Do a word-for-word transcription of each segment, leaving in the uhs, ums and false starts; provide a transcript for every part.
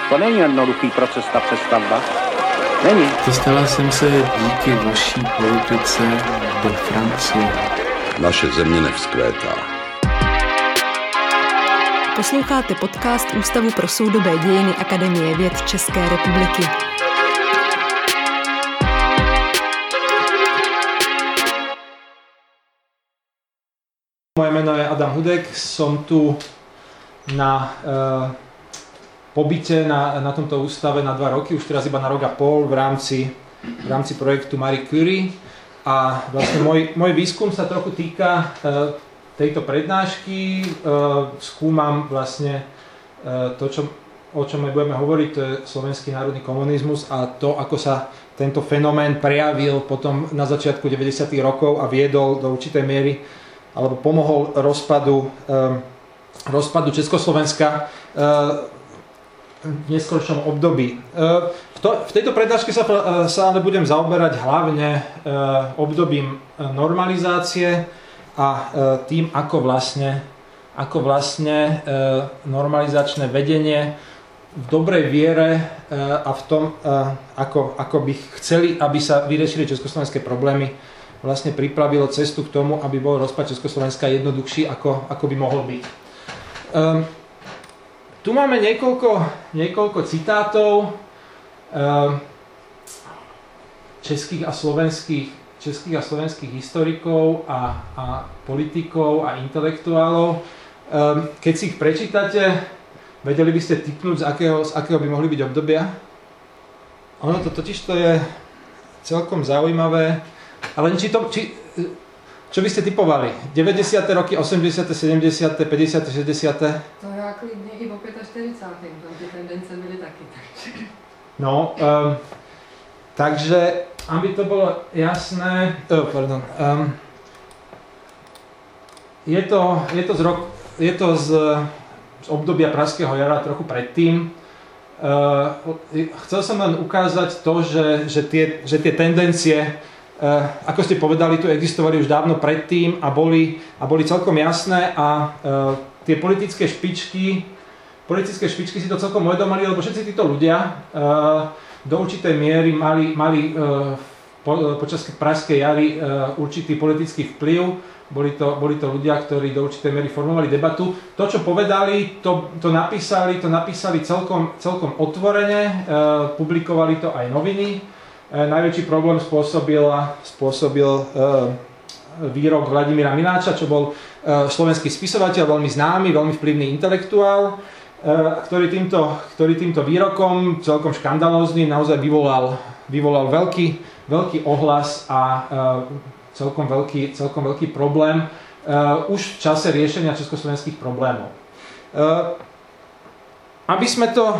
To není jednoduchý proces, ta přestavba. Není. Dostala jsem se díky vaší politice do Francie. Naše země nevzkvétá. Posloucháte podcast Ústavu pro soudobé dějiny Akademie věd České republiky. Moje meno je Adam Hudek, som tu na e, pobyte na, na tomto ústave na dva roky, už teraz iba na rok a pol v rámci, v rámci projektu Marie Curie. A vlastne môj, môj výskum sa trochu týka e, tejto prednášky. E, skúmam vlastne e, to, čo, o čom my budeme hovoriť, to je slovenský národný komunizmus a to, ako sa tento fenomén prejavil potom na začiatku deväťdesiatych rokov a viedol do určitej miery alebo pomohol rozpadu, um, rozpadu Československa uh, v neskoršom období. Uh, v, to, v tejto prednáške sa, uh, sa ale budem zaoberať hlavne uh, obdobím normalizácie a uh, tým, ako vlastne, ako vlastne uh, normalizačné vedenie v dobrej viere uh, a v tom, uh, ako, ako by chceli, aby sa vyriešili československé problémy, vlastne pripravilo cestu k tomu, aby bol rozpad Československa jednoduchší, ako, ako by mohol byť. Um, tu máme niekoľko, niekoľko citátov um, českých a slovenských, českých a slovenských historikov a, a politikov a intelektuálov. Um, keď si ich prečítate, vedeli by ste tipnúť, z akého, z akého by mohli byť obdobia? Ono to totiž to je celkom zaujímavé. Ale či to, či, čo by ste typovali? deväťdesiate roky, osemdesiate, sedemdesiate, päťdesiate, šesťdesiate? To já klidně i po štyridsiatym, tam ty tendence byly taky. No, um, takže, aby to bolo jasné, oh, pardon, um, je to, je to, z, rok, je to z, z obdobia Pražského jara, trochu predtým. Uh, chcel som len ukázať to, že, že, tie, že tie tendencie, Uh, ako ste povedali, tu existovali už dávno predtým a boli, a boli celkom jasné a uh, tie politické špičky, politické špičky si to celkom uvedomili, lebo všetci títo ľudia uh, do určitej miery mali, mali uh, po, počas Pražskej jary uh, určitý politický vplyv. Boli to, boli to ľudia, ktorí do určitej miery formovali debatu. To, čo povedali, to, to napísali, to napísali celkom, celkom otvorene, uh, publikovali to aj noviny. Najväčší problém spôsobil, spôsobil uh, výrok Vladimíra Miláča, čo bol uh, slovenský spisovateľ, veľmi známy, veľmi vplyvný intelektuál, uh, ktorý, týmto, ktorý týmto výrokom, celkom škandalóznym, naozaj vyvolal, vyvolal veľký, veľký ohlas a uh, celkom, veľký, celkom veľký problém uh, už v čase riešenia československých problémov. Uh, aby sme to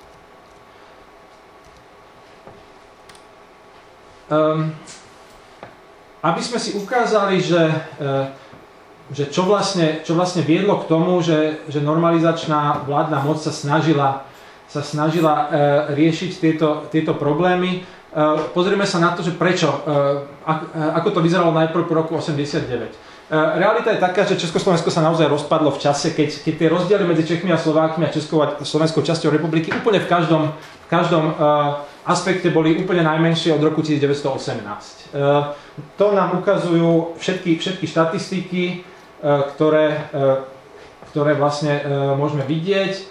Um, aby sme si ukázali, že, uh, že čo, vlastne, čo vlastne viedlo k tomu, že, že normalizačná vládna moc sa snažila, sa snažila uh, riešiť tieto, tieto problémy. Uh, pozrieme sa na to, že prečo, uh, ak, uh, ako to vyzeralo najprv po roku osemdesiatdeväť. Uh, realita je taká, že Československo sa naozaj rozpadlo v čase, keď, keď tie rozdiely medzi Čechmi a Slovákmi a Českou a slovenskou časťou republiky úplne v každom, v každom uh, aspekte boli úplne najmenšie od roku devätnásťstoosemnásť. To nám ukazujú všetky, všetky štatistiky, ktoré, ktoré vlastne môžeme vidieť.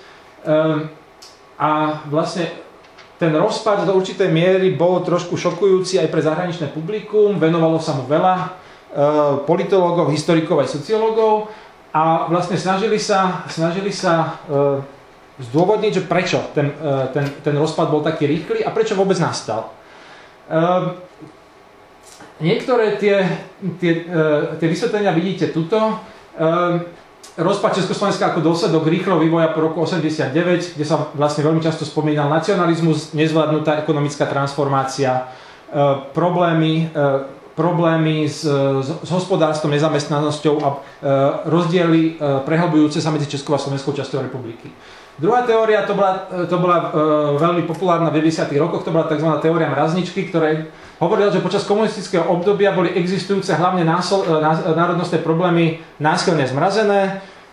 A vlastne ten rozpad do určitej miery bol trošku šokujúci aj pre zahraničné publikum, venovalo sa mu veľa politológov, historikov aj sociológov a vlastne snažili sa, snažili sa zdôvodniť, že prečo ten, ten, ten rozpad bol taký rýchly a prečo vôbec nastal. Uh, niektoré tie, tie, uh, tie vysvetlenia vidíte tuto. Uh, rozpad Československa ako dôsledok rýchleho vývoja po roku osemdesiatdeväť, kde sa vlastne veľmi často spomínal nacionalizmus, nezvládnutá ekonomická transformácia, uh, problémy, uh, problémy s, s, s hospodárstvom, nezamestnanosťou a uh, rozdiely uh, prehlbujúce sa medzi Českou a Slovenskou časťou republiky. Druhá teória, to bola, to bola e, veľmi populárna v deväťdesiatych rokoch, to bola tzv. Teória mrazničky, ktorá hovorila, že počas komunistického obdobia boli existujúce hlavne násol, ná, národnostné problémy násilne zmrazené,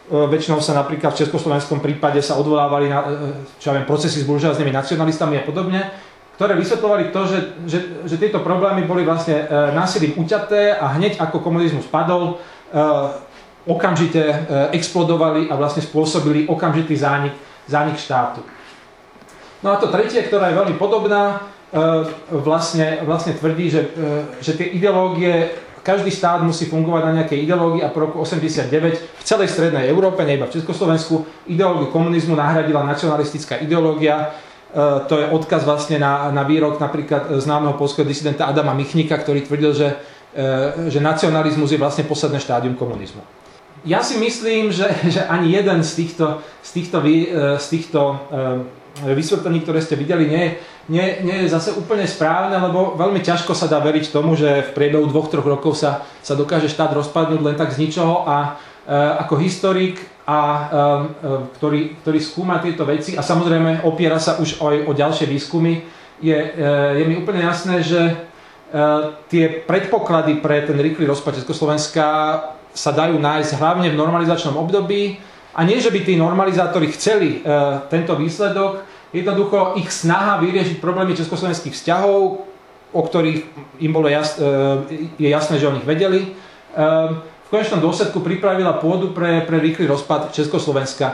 väčšinou sa napríklad v československom prípade sa odvolávali na čo ja viem, procesy s buržoáznymi nacionalistami a podobne, ktoré vysvetľovali to, že, že, že tieto problémy boli vlastne násilím uťaté a hneď ako komunizmus padol, okamžite explodovali a vlastne spôsobili okamžitý zánik, zánik štátu. No a to tretie, ktorá je veľmi podobná, vlastne, vlastne tvrdí, že, že tie ideológie, každý štát musí fungovať na nejakej ideológii a po roku osemdesiatdeväť v celej strednej Európe, ne iba v Československu, ideológiu komunizmu nahradila nacionalistická ideológia. To je odkaz vlastne na, na výrok napríklad známeho poľského disidenta Adama Michnika, ktorý tvrdil, že, že nacionalizmus je vlastne posledné štádium komunizmu. Ja si myslím, že, že ani jeden z týchto, z týchto, z týchto vysvetlení, ktoré ste videli, nie, nie, nie je zase úplne správne, lebo veľmi ťažko sa dá veriť tomu, že v priebehu dvoch, troch rokov sa, sa dokáže štát rozpadnúť len tak z ničoho a e, ako historik, a, e, ktorý, ktorý skúma tieto veci a samozrejme opiera sa už aj o ďalšie výskumy, je, e, je mi úplne jasné, že e, tie predpoklady pre ten rýchly rozpad Československa sa dajú nájsť hlavne v normalizačnom období. A nie, že by tí normalizátori chceli e, tento výsledok, jednoducho ich snaha vyriešiť problémy československých vzťahov, o ktorých im bolo jas, e, je jasné, že o nich vedeli, e, v konečnom dôsledku pripravila pôdu pre, pre rýchly rozpad Československa. E,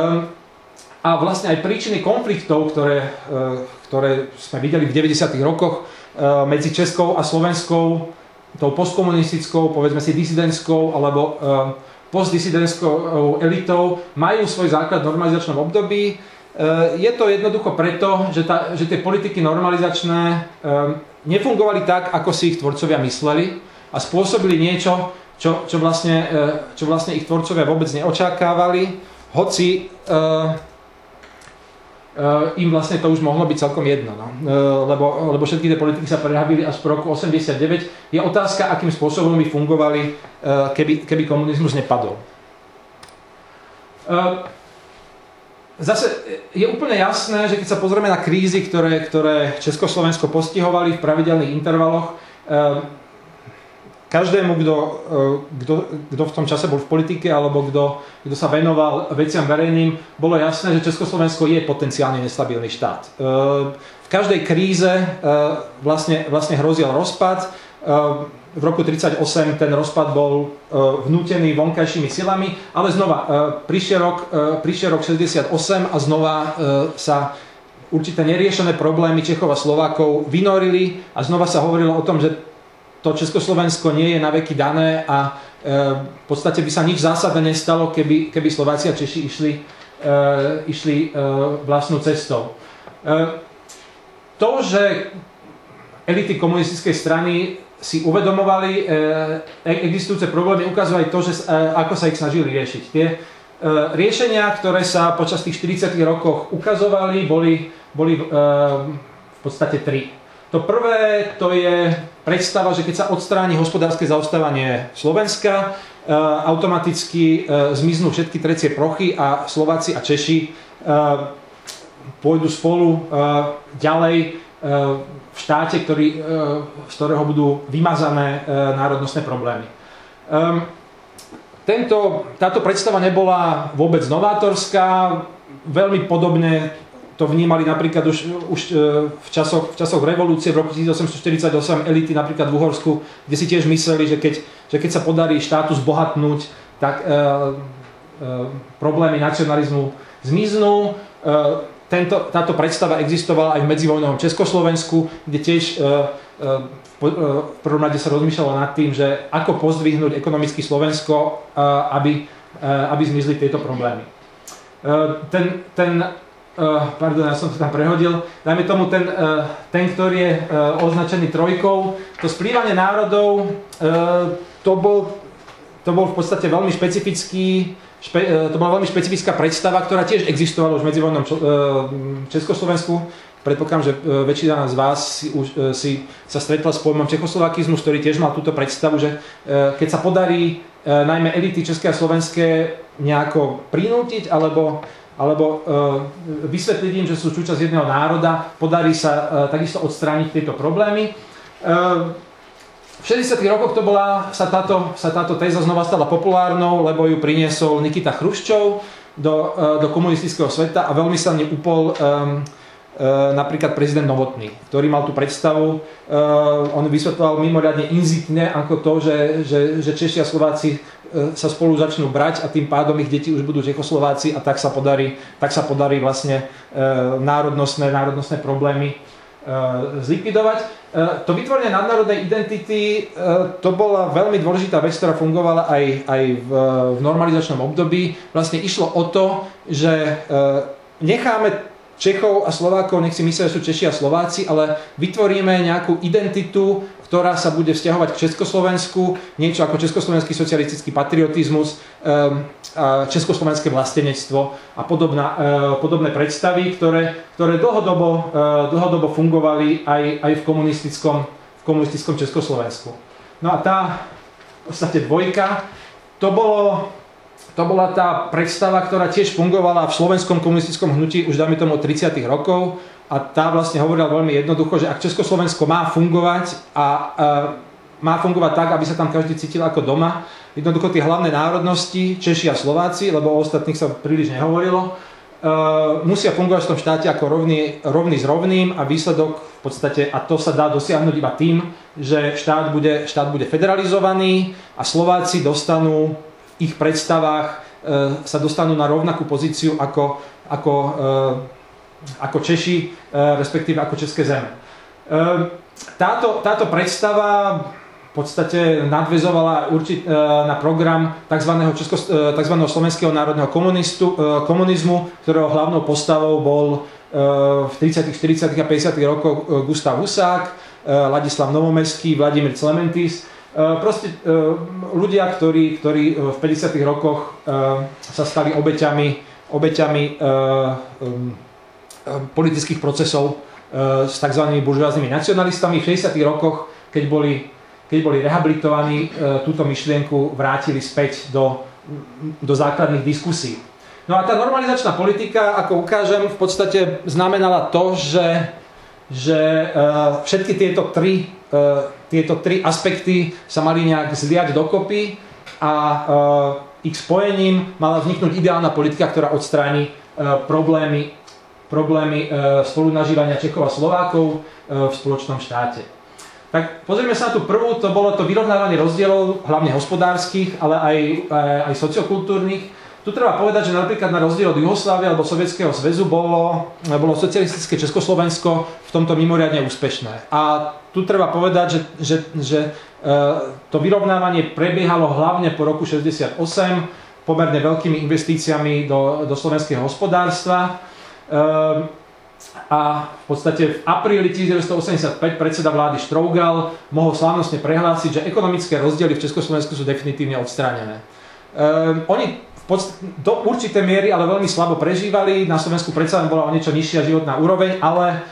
a vlastne aj príčiny konfliktov, ktoré, e, ktoré sme videli v deväťdesiatych rokoch e, medzi Českou a Slovenskou, tou postkomunistickou, povedzme si disidentskou, alebo e, postdisidentskou elitou, majú svoj základ v normalizačnom období. Je to jednoducho preto, že, tá, že tie politiky normalizačné nefungovali tak, ako si ich tvorcovia mysleli a spôsobili niečo, čo, čo, vlastne, čo vlastne ich tvorcovia vôbec neočakávali, hoci im vlastne to už mohlo byť celkom jedno, no. lebo, lebo všetky tie politiky sa prehábili až po roku osemdesiatdeväť. Je otázka, akým spôsobom by fungovali, keby, keby komunizmus nepadol. Zase je úplne jasné, že keď sa pozrieme na krízy, ktoré, ktoré Československo postihovali v pravidelných intervaloch, každému, kto, kto, kto v tom čase bol v politike alebo kto, kto sa venoval veciam verejným, bolo jasné, že Československo je potenciálne nestabilný štát. V každej kríze vlastne, vlastne hrozil rozpad. V roku tridsaťosem ten rozpad bol vnútený vonkajšími silami, ale znova prišiel rok, prišiel rok šesťdesiatosem a znova sa určité neriešené problémy Čechov a Slovákov vynorili a znova sa hovorilo o tom, že to Československo nie je na veky dané a e, v podstate by sa nič zásadné nestalo, keby, keby Slováci a Češi išli, e, išli e, vlastnou cestou. E, to, že elity komunistickej strany si uvedomovali e, existujúce problémy, ukazuje aj to, že, e, ako sa ich snažili riešiť. Tie e, riešenia, ktoré sa počas tých štyridsiatych rokoch ukazovali, boli, boli e, v podstate tri. To prvé, to je predstava, že keď sa odstráni hospodárske zaostávanie Slovenska, e, automaticky e, zmiznú všetky trecie plochy a Slováci a Češi e, pôjdu spolu e, ďalej e, v štáte, ktorý, e, z ktorého budú vymazané e, národnostné problémy. E, tento, táto predstava nebola vôbec novátorská, veľmi podobne to vnímali napríklad už, už v, časoch, v časoch revolúcie v roku tisícosemstoštyridsaťosem elity napríklad v Uhorsku, kde si tiež mysleli, že keď, že keď sa podarí štátu zbohatnúť, tak e, e, problémy nacionalizmu zmiznú. E, tento, táto predstava existovala aj v medzivojnovom Československu, kde tiež e, e, v prvom rade sa rozmýšľalo nad tým, že ako pozdvihnúť ekonomicky Slovensko, e, aby, e, aby zmizli tieto problémy. E, ten, ten Uh, pardon, ja som to tam prehodil. Dajme tomu ten, uh, ten ktorý je uh, označený trojkou. To splývanie národov, uh, to, bol, to bol v podstate veľmi špecifický, špe, uh, to bola veľmi špecifická predstava, ktorá tiež existovala už v medzivojnom uh, Československu. Predpokladám, že uh, väčšina z vás si, už, uh, si sa stretla s pojmom čechoslovakizmus, ktorý tiež mal túto predstavu, že uh, keď sa podarí uh, najmä elity české a slovenské nejako prinútiť alebo alebo e, vysvetliť im, že sú súčasť jedného národa, podarí sa e, takisto odstrániť tieto problémy. E, v šesťdesiatych rokoch to bola, sa, táto, sa táto téza znova stala populárnou, lebo ju priniesol Nikita Chruščov do, do komunistického sveta a veľmi sa mne upol um, napríklad prezident Novotný, ktorý mal tú predstavu, on vysvetľoval mimoriadne inzitne ako to, že, že, že Češi a Slováci sa spolu začnú brať a tým pádom ich deti už budú Čechoslováci a tak sa podarí, tak sa podarí vlastne národnostné, národnostné problémy zlikvidovať. To vytvorenie nadnárodnej identity, to bola veľmi dôležitá vec, ktorá fungovala aj, aj v, v normalizačnom období. Vlastne išlo o to, že necháme Čechov a Slovákov, nech si myslia, že sú Češi a Slováci, ale vytvoríme nejakú identitu, ktorá sa bude vzťahovať k Československu, niečo ako československý socialistický patriotizmus, československé vlastenectvo a podobná, podobné predstavy, ktoré, ktoré dlhodobo, dlhodobo fungovali aj, aj v, komunistickom, v komunistickom Československu. No a tá v podstate dvojka, to bolo... To bola tá predstava, ktorá tiež fungovala v slovenskom komunistickom hnutí už dajme tomu od tridsiatych rokov a tá vlastne hovorila veľmi jednoducho, že ak Československo má fungovať a e, má fungovať tak, aby sa tam každý cítil ako doma, jednoducho tie hlavné národnosti, Češi a Slováci, lebo o ostatných sa príliš nehovorilo, e, musia fungovať v tom štáte ako rovný, rovný s rovným a výsledok v podstate, a to sa dá dosiahnuť iba tým, že štát bude, štát bude federalizovaný a Slováci dostanú ich predstavách e, sa dostanú na rovnakú pozíciu ako, ako, e, ako Češi, e, respektíve ako české zeme. E, táto, táto predstava v podstate nadväzovala určit, e, na program tzv. Česko, e, tzv. Slovenského národného komunistu, e, komunizmu, ktorého hlavnou postavou bol e, v tridsiatych, štyridsiatych a päťdesiatych rokoch Gustav Husák, e, Ladislav Novomeský, Vladimír Clementis. Proste ľudia, ktorí, ktorí v päťdesiatych rokoch sa stali obeťami, obeťami politických procesov s tzv. Buržoáznymi nacionalistami. V šesťdesiatych rokoch, keď boli, keď boli rehabilitovaní, túto myšlienku vrátili späť do, do základných diskusí. No a tá normalizačná politika, ako ukážem, v podstate znamenala to, že, že všetky tieto tri Tieto tri aspekty sa mali nejak zliať dokopy a ich spojením mala vzniknúť ideálna politika, ktorá odstráni problémy, problémy spolunažívania Čechov a Slovákov v spoločnom štáte. Tak pozrieme sa na tú prvú, to bolo to vyrovnávanie rozdielov, hlavne hospodárskych, ale aj, aj sociokultúrnych. Tu treba povedať, že napríklad na rozdiel od Juhoslávie alebo Sovietskeho zväzu bolo, bolo socialistické Československo v tomto mimoriadne úspešné. A tu treba povedať, že, že, že to vyrovnávanie prebiehalo hlavne po roku šesťdesiatosem pomerne veľkými investíciami do, do slovenského hospodárstva. A v podstate v apríli devätnásťstoosemdesiatpäť predseda vlády Štrougal mohol slávnostne prehlásiť, že ekonomické rozdiely v Československu sú definitívne odstránené. Oni do určitej miery, ale veľmi slabo prežívali. Na Slovensku predsa bola o niečo nižšia životná úroveň, ale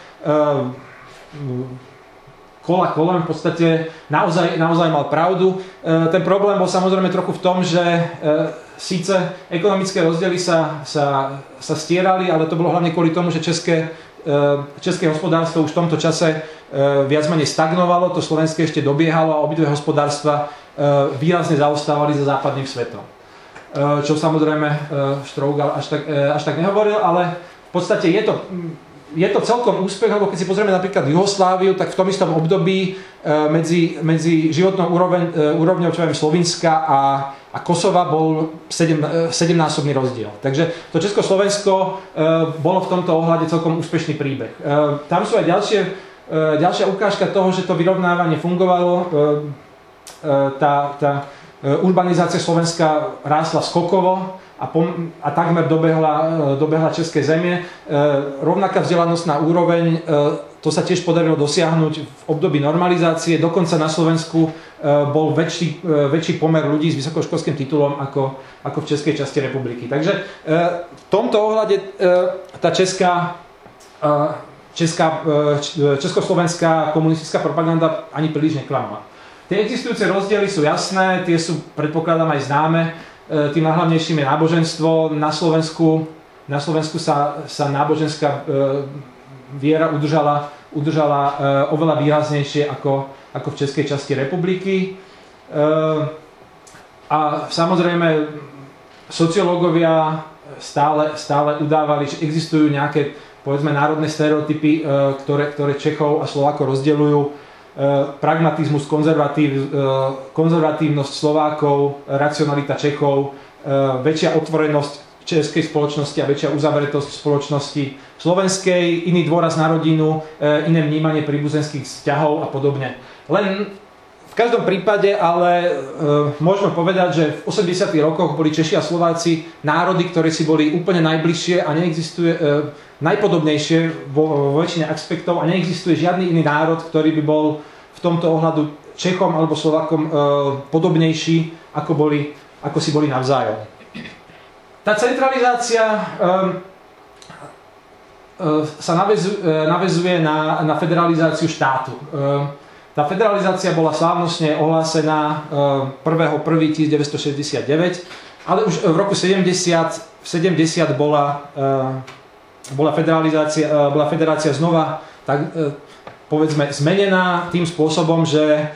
kola kolem v podstate naozaj, naozaj mal pravdu. Ten problém bol samozrejme trochu v tom, že síce ekonomické rozdiely sa, sa, sa stierali, ale to bolo hlavne kvôli tomu, že české, české hospodárstvo už v tomto čase viac menej stagnovalo, to slovenské ešte dobiehalo a obidve hospodárstva výrazne zaostávali za západným svetom. Čo samozrejme Štrougal až tak, až tak nehovoril, ale v podstate je to, je to celkom úspech, lebo keď si pozrieme napríklad Juhosláviu, tak v tom istom období medzi, medzi životnou úroveň, úrovňou čo viem, Slovinska a, a Kosova bol sedem, sedemnásobný rozdiel. Takže to Československo bolo v tomto ohľade celkom úspešný príbeh. Tam sú aj ďalšie, ďalšia ukážka toho, že to vyrovnávanie fungovalo. Tá, tá urbanizácia Slovenska rástla skokovo a, pom- a takmer dobehla, dobehla české zemie. E, rovnaká vzdelanostná úroveň, e, to sa tiež podarilo dosiahnuť v období normalizácie. Dokonca na Slovensku e, bol väčší, e, väčší pomer ľudí s vysokoškolským titulom ako, ako v českej časti republiky. Takže e, v tomto ohľade e, tá česká, e, česká, e, československá komunistická propaganda ani príliš neklamala. Tie existujúce rozdiely sú jasné, tie sú, predpokladám, aj známe. Tým najhlavnejším je náboženstvo. Na Slovensku, na Slovensku sa, sa náboženská viera udržala, udržala oveľa výraznejšie ako, ako v českej časti republiky. A samozrejme sociológovia stále, stále udávali, že existujú nejaké, povedzme, národné stereotypy, ktoré, ktoré Čechov a Slovákov rozdeľujú. Pragmatizmus, konzervatív, konzervatívnosť Slovákov, racionalita Čechov, väčšia otvorenosť českej spoločnosti a väčšia uzavretosť spoločnosti slovenskej, iný dôraz na rodinu, iné vnímanie príbuzenských vzťahov a podobne. Len v každom prípade ale e, môžeme povedať, že v osemdesiatych rokoch boli Češi a Slováci národy, ktoré si boli úplne najbližšie a neexistuje e, najpodobnejšie vo, vo väčšine aspektov a neexistuje žiadny iný národ, ktorý by bol v tomto ohľadu Čechom alebo Slovákom e, podobnejší, ako, boli, ako si boli navzájom. Tá centralizácia e, e, sa navezuje, e, navezuje na, na federalizáciu štátu. E, Tá federalizácia bola slávnostne ohlásená prvého prvého devätnásťstošesťdesiatdeväť, ale už v roku sedemdesiat, sedemdesiat bola, bola, federalizácia, bola federácia znova tak, povedzme, zmenená tým spôsobom, že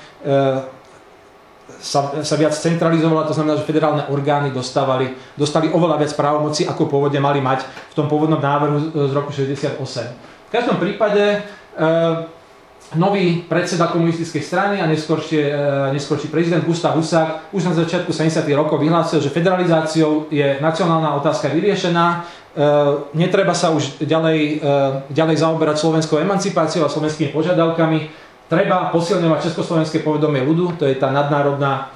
sa, sa viac centralizovala, to znamená, že federálne orgány dostávali, dostali oveľa viac právomocí, ako pôvodne mali mať v tom pôvodnom návrhu z roku šesťdesiatosem. V každom prípade nový predseda komunistickej strany a neskorší, neskorší prezident Gustav Husák už na začiatku sedemdesiatych rokov vyhlásil, že federalizáciou je nacionálna otázka vyriešená, netreba sa už ďalej, ďalej zaoberať slovenskou emancipáciou a slovenskými požiadavkami, treba posilňovať československé povedomie ľudu, to je tá nadnárodná,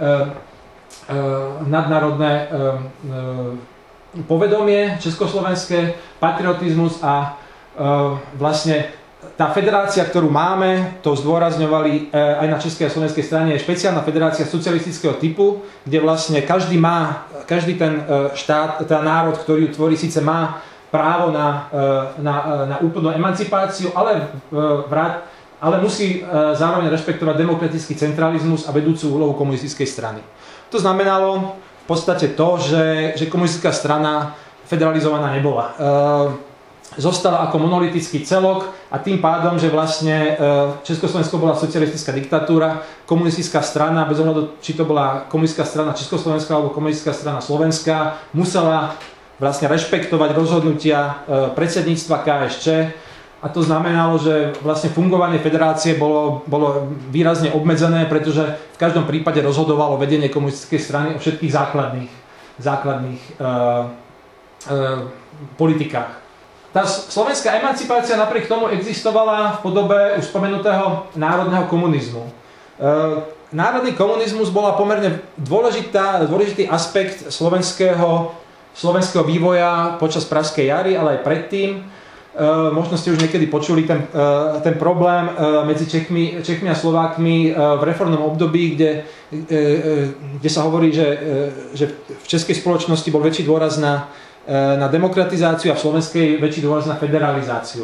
nadnárodné povedomie československé, patriotizmus a vlastne tá federácia, ktorú máme, to zdôrazňovali aj na českej a slovenskej strane, je špeciálna federácia socialistického typu, kde vlastne každý má, každý ten štát, ten národ, ktorý ju tvorí, síce má právo na, na, na úplnú emancipáciu, ale, vrát, ale musí zároveň rešpektovať demokratický centralizmus a vedúcu úlohu komunistickej strany. To znamenalo v podstate to, že, že komunistická strana federalizovaná nebola. Zostala ako monolitický celok a tým pádom, že vlastne Československo bola socialistická diktatúra, komunistická strana, bez ohľadu, či to bola komunistická strana Československá alebo komunistická strana Slovenská, musela vlastne rešpektovať rozhodnutia predsedníctva ká es čé a to znamenalo, že vlastne fungovanie federácie bolo, bolo výrazne obmedzené, pretože v každom prípade rozhodovalo vedenie komunistickej strany o všetkých základných, základných uh, uh, politikách. Tá slovenská emancipácia napriek tomu existovala v podobe už spomenutého národného komunizmu. Národný komunizmus bola pomerne dôležitá, dôležitý aspekt slovenského, slovenského vývoja počas Pražskej jary, ale aj predtým. Možno ste už niekedy počuli ten, ten problém medzi Čechmi, Čechmi a Slovákmi v reformnom období, kde, kde sa hovorí, že, že v českej spoločnosti bol väčší dôraz na na demokratizáciu a v slovenskej väčší dôraz na federalizáciu.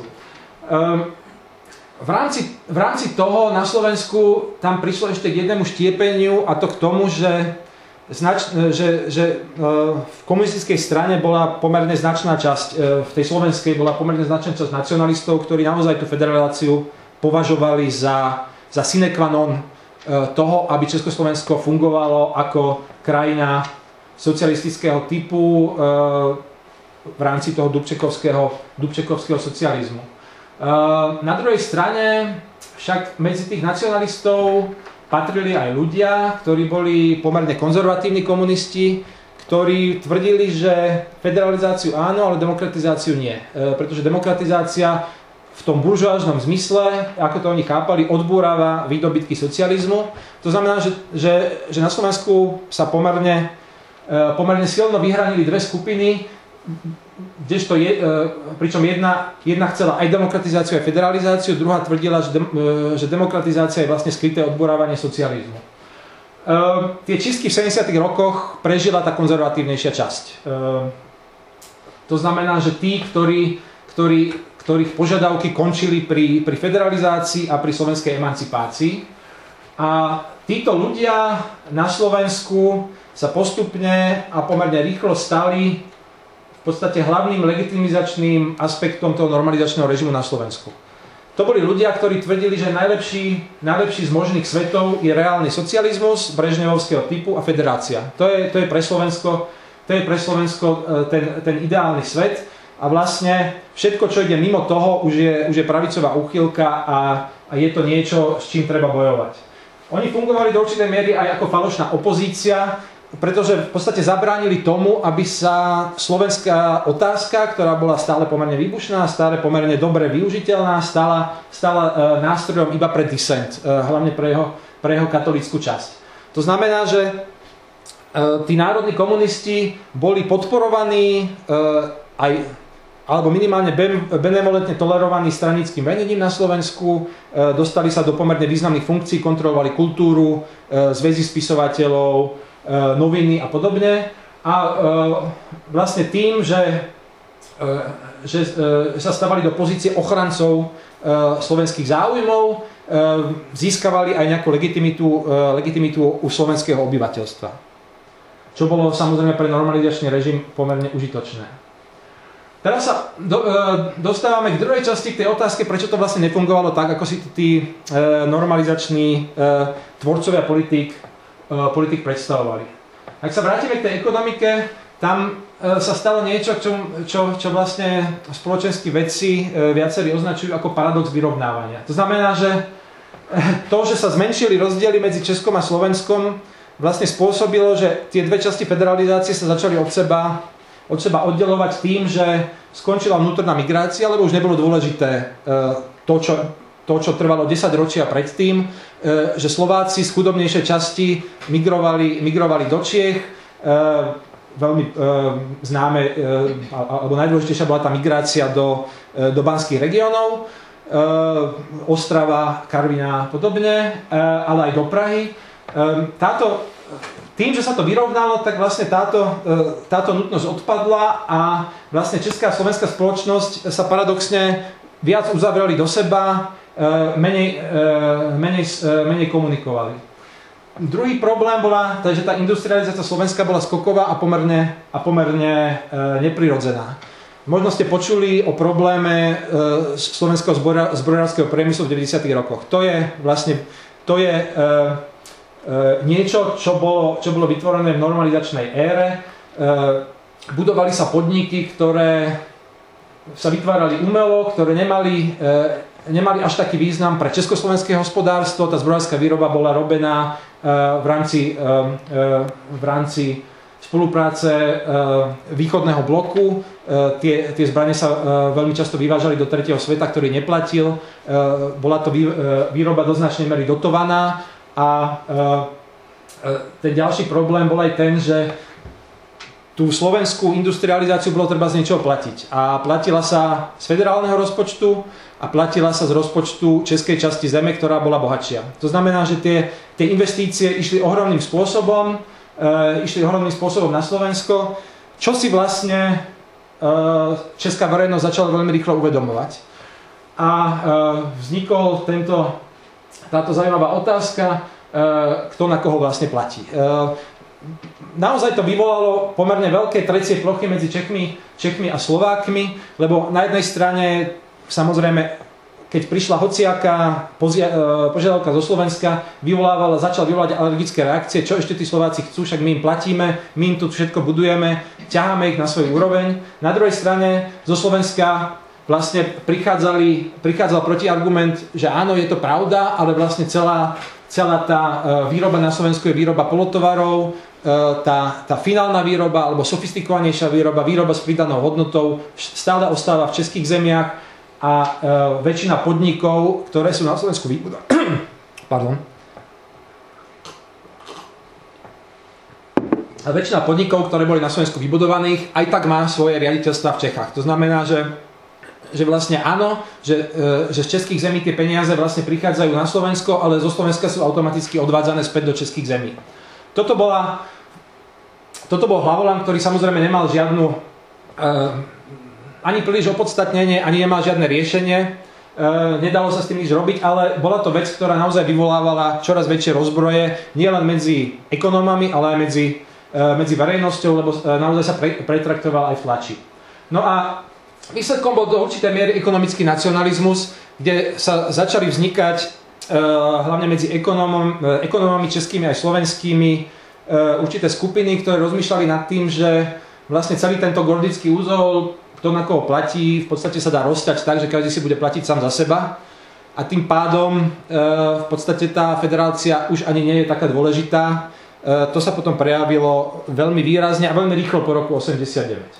V rámci, v rámci toho na Slovensku tam prišlo ešte k jednému štiepeniu a to k tomu, že, znač, že, že v komunistickej strane bola pomerne značná časť, v tej slovenskej bola pomerne značná časť nacionalistov, ktorí naozaj tú federalizáciu považovali za, za sine qua non toho, aby Československo fungovalo ako krajina socialistického typu v rámci toho Dubčekovského, Dubčekovského socializmu. Na druhej strane však medzi tých nacionalistov patrili aj ľudia, ktorí boli pomerne konzervatívni komunisti, ktorí tvrdili, že federalizáciu áno, ale demokratizáciu nie. Pretože demokratizácia v tom buržoáznom zmysle, ako to oni chápali, odbúrava výdobytky socializmu. To znamená, že, že, že na Slovensku sa pomerne, pomerne silno vyhranili dve skupiny, kdežto je, pričom jedna, jedna chcela aj demokratizáciu, aj federalizáciu, druhá tvrdila, že, de, že demokratizácia je vlastne skryté odborávanie socializmu. E, tie čistky v sedemdesiatych rokoch prežila tá konzervatívnejšia časť. E, to znamená, že tí, ktorí, ktorí, ktorých požiadavky končili pri, pri federalizácii a pri slovenskej emancipácii. A títo ľudia na Slovensku sa postupne a pomerne rýchlo stali v podstate hlavným legitimizačným aspektom toho normalizačného režimu na Slovensku. To boli ľudia, ktorí tvrdili, že najlepší, najlepší z možných svetov je reálny socializmus brežnevovského typu a federácia. To je, to je pre Slovensko, to je pre Slovensko ten, ten ideálny svet a vlastne všetko, čo ide mimo toho, už je, už je pravicová úchylka a, a je to niečo, s čím treba bojovať. Oni fungovali do určitej miery aj ako falošná opozícia, pretože v podstate zabránili tomu, aby sa slovenská otázka, ktorá bola stále pomerne výbušná, stále pomerne dobre využiteľná, stala, stala e, nástrojom iba pre dissent, e, hlavne pre jeho, pre jeho katolícku časť. To znamená, že e, tí národní komunisti boli podporovaní e, aj, alebo minimálne benevolentne tolerovaní stranickým vedením na Slovensku, e, dostali sa do pomerne významných funkcií, kontrolovali kultúru, e, zväzy spisovateľov, noviny a podobne. A e, vlastne tým, že, e, že e, sa stavali do pozície ochrancov e, slovenských záujmov, e, získavali aj nejakú legitimitu, e, legitimitu u slovenského obyvateľstva. Čo bolo samozrejme pre normalizačný režim pomerne užitočné. Teraz sa do, e, dostávame k druhej časti, k tej otázke, prečo to vlastne nefungovalo tak, ako si tí e, normalizační e, tvorcovia politík politik predstavovali. Ak sa vrátime k tej ekonomike, tam sa stalo niečo, čo, čo, čo vlastne spoločenskí vedci viacerí označujú ako paradox vyrovnávania. To znamená, že to, že sa zmenšili rozdiely medzi Českom a Slovenskom, vlastne spôsobilo, že tie dve časti federalizácie sa začali od seba, od seba oddelovať tým, že skončila vnútorná migrácia, lebo už nebolo dôležité to, čo to, čo trvalo desaťročia predtým, že Slováci z chudobnejšej časti migrovali, migrovali do Čiech. Veľmi známe, alebo najdôležitejšia bola tá migrácia do, do banských regiónov, Ostrava, Karviná a podobne, ale aj do Prahy. Táto, tým, že sa to vyrovnalo, tak vlastne táto, táto nutnosť odpadla a vlastne česká a slovenská spoločnosť sa paradoxne viac uzavreli do seba, menej, menej, menej komunikovali. Druhý problém bola, že tá industrializácia Slovenska bola skoková a pomerne, a pomerne neprirodzená. Možno ste počuli o probléme slovenského zbrojárskeho priemyslu v deväťdesiatych rokoch. To je vlastne to je, niečo, čo bolo, čo bolo vytvorené v normalizačnej ére. Budovali sa podniky, ktoré sa vytvárali umelo, ktoré nemali nemali až taký význam pre československé hospodárstvo. Tá zbrojárska výroba bola robená v rámci, v rámci spolupráce východného bloku. Tie, tie zbrane sa veľmi často vyvážali do tretieho sveta, ktorý neplatil. Bola to výroba do značnej miery dotovaná a ten ďalší problém bol aj ten, že tú slovenskú industrializáciu bolo treba z niečoho platiť. A platila sa z federálneho rozpočtu a platila sa z rozpočtu českej časti zeme, ktorá bola bohatšia. To znamená, že tie, tie investície išli ohromným spôsobom, e, išli ohromným spôsobom na Slovensko, čo si vlastne e, česká verejnosť začala veľmi rýchlo uvedomovať. A e, vznikol tento, táto zaujímavá otázka, e, kto na koho vlastne platí. E, Naozaj to vyvolalo pomerne veľké trecie plochy medzi Čechmi, Čechmi a Slovákmi, lebo na jednej strane, samozrejme, keď prišla hociaká požiadavka zo Slovenska, vyvolávala, začal vyvolať alergické reakcie, čo ešte tí Slováci chcú, však my im platíme, my im tu všetko budujeme, ťaháme ich na svoju úroveň. Na druhej strane zo Slovenska vlastne prichádzali, prichádzal protiargument, že áno, je to pravda, ale vlastne celá, celá tá výroba na Slovensku je výroba polotovarov, Tá, tá finálna výroba alebo sofistikovanejšia výroba, výroba s pridanou hodnotou stále ostáva v českých zemiach a e, väčšina podnikov, ktoré sú na Slovensku vybudované, pardon. A väčšina podnikov, ktoré boli na Slovensku vybudovaných, aj tak má svoje riaditeľstvá v Čechách. To znamená, že, že vlastne áno, že, e, že z českých zemí tie peniaze vlastne prichádzajú na Slovensko, ale zo Slovenska sú automaticky odvádzané späť do českých zemí. Toto, bola, toto bol hlavolám, ktorý samozrejme nemal žiadnu e, ani príliš opodstatnenie, ani nemal žiadne riešenie. E, nedalo sa s tým nič robiť, ale bola to vec, ktorá naozaj vyvolávala čoraz väčšie rozbroje, nielen medzi ekonómami, ale aj medzi, e, medzi verejnosťou, lebo e, naozaj sa pre, pretraktoval aj v tlači. No a výsledkom bol do určitej miery ekonomický nacionalizmus, kde sa začali vznikať hlavne medzi ekonómom, ekonómami českými aj slovenskými určité skupiny, ktoré rozmýšľali nad tým, že vlastne celý tento gordický úzol, kto na koho platí, v podstate sa dá rozťať tak, že každý si bude platiť sám za seba a tým pádom v podstate tá federácia už ani nie je taká dôležitá. To sa potom prejavilo veľmi výrazne a veľmi rýchlo po roku osemdesiatdeväť.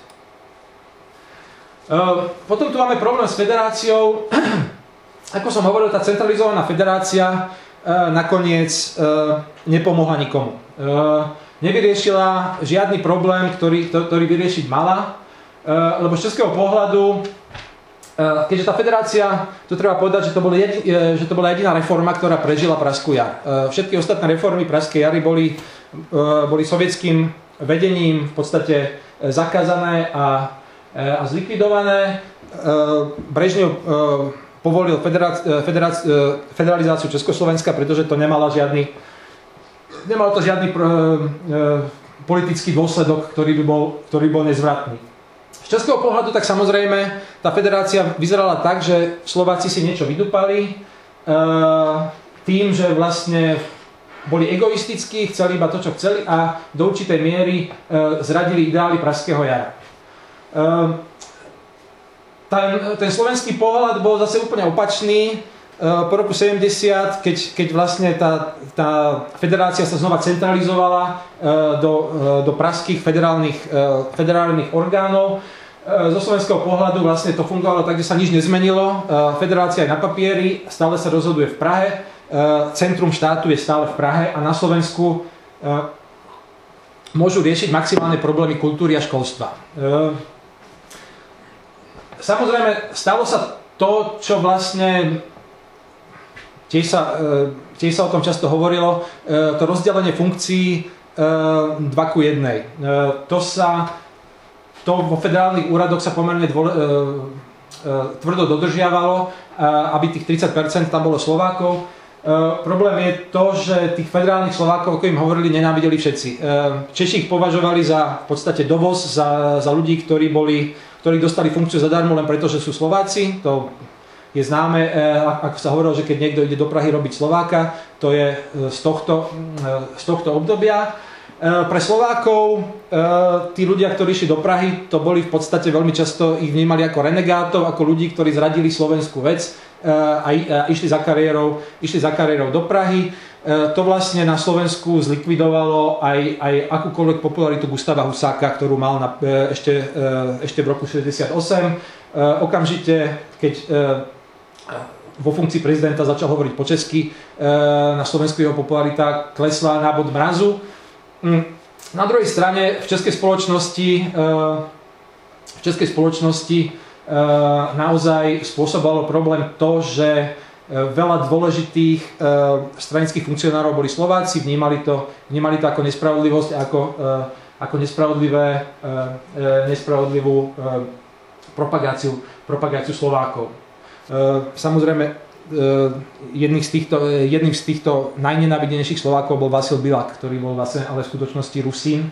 Potom tu máme problém s federáciou. Ako som hovoril, tá centralizovaná federácia e, nakoniec e, nepomohla nikomu. E, nevyriešila žiadny problém, ktorý, ktorý vyriešiť mala, e, lebo z českého pohľadu, e, keďže tá federácia, to treba povedať, že to, boli jedi, e, že to bola jediná reforma, ktorá prežila Pražskú jar. E, všetky ostatné reformy Pražskej jary boli, e, boli sovietským vedením v podstate zakázané a, e, a zlikvidované. E, Brežnev e, povolil federáci, federáci, federalizáciu Československa, pretože to nemalo žiadny, nemalo to žiadny pr, e, politický dôsledok, ktorý by bol, ktorý bol nezvratný. Z českého pohľadu tak samozrejme tá federácia vyzerala tak, že Slováci si niečo vydupali e, tým, že vlastne boli egoistickí, chceli iba to, čo chceli a do určitej miery e, zradili ideály Pražského jara. E, Ten, ten slovenský pohľad bol zase úplne opačný. Po roku sedemdesiat, keď, keď vlastne tá, tá federácia sa znova centralizovala do, do pražských federálnych, federálnych orgánov, zo slovenského pohľadu vlastne to fungovalo tak, že sa nič nezmenilo. Federácia je na papieri, stále sa rozhoduje v Prahe, centrum štátu je stále v Prahe a na Slovensku môžu riešiť maximálne problémy kultúry a školstva. Samozrejme, stalo sa to, čo vlastne tiež sa, tiež sa o tom často hovorilo, to rozdelenie funkcií dva ku jednej. To sa, to vo federálnych úradoch sa pomerne dvole, tvrdo dodržiavalo, aby tých tridsať percent tam bolo Slovákov. Problém je to, že tých federálnych Slovákov, ako im hovorili, nenávideli všetci. Češi ich považovali za v podstate dovoz, za, za ľudí, ktorí boli ktorí dostali funkciu zadarmo len preto, že sú Slováci. To je známe, ako sa hovorilo, že keď niekto ide do Prahy robiť Slováka, to je z tohto, z tohto obdobia. Pre Slovákov, tí ľudia, ktorí išli do Prahy, to boli v podstate veľmi často, ich vnímali ako renegátov, ako ľudí, ktorí zradili slovenskú vec a išli za kariérou, išli za kariérou do Prahy. To vlastne na Slovensku zlikvidovalo aj, aj akúkoľvek popularitu Gustáva Husáka, ktorú mal na, ešte, ešte v roku šesťdesiatosem. Okamžite, keď vo funkcii prezidenta začal hovoriť po česky, na Slovensku jeho popularita klesla na bod mrazu. Na druhej strane v českej spoločnosti, v českej spoločnosti naozaj spôsobovalo problém to, že veľa dôležitých stranických funkcionárov boli Slováci, vnímali to, vnímali to ako nespravodlivosť, ako, ako nespravodlivé, nespravodlivú propagáciu, propagáciu Slovákov. Samozrejme, jedným z týchto, jedným z týchto najnenávidenejších Slovákov bol Vasil Bilak, ktorý bol vlastne ale v skutočnosti Rusín.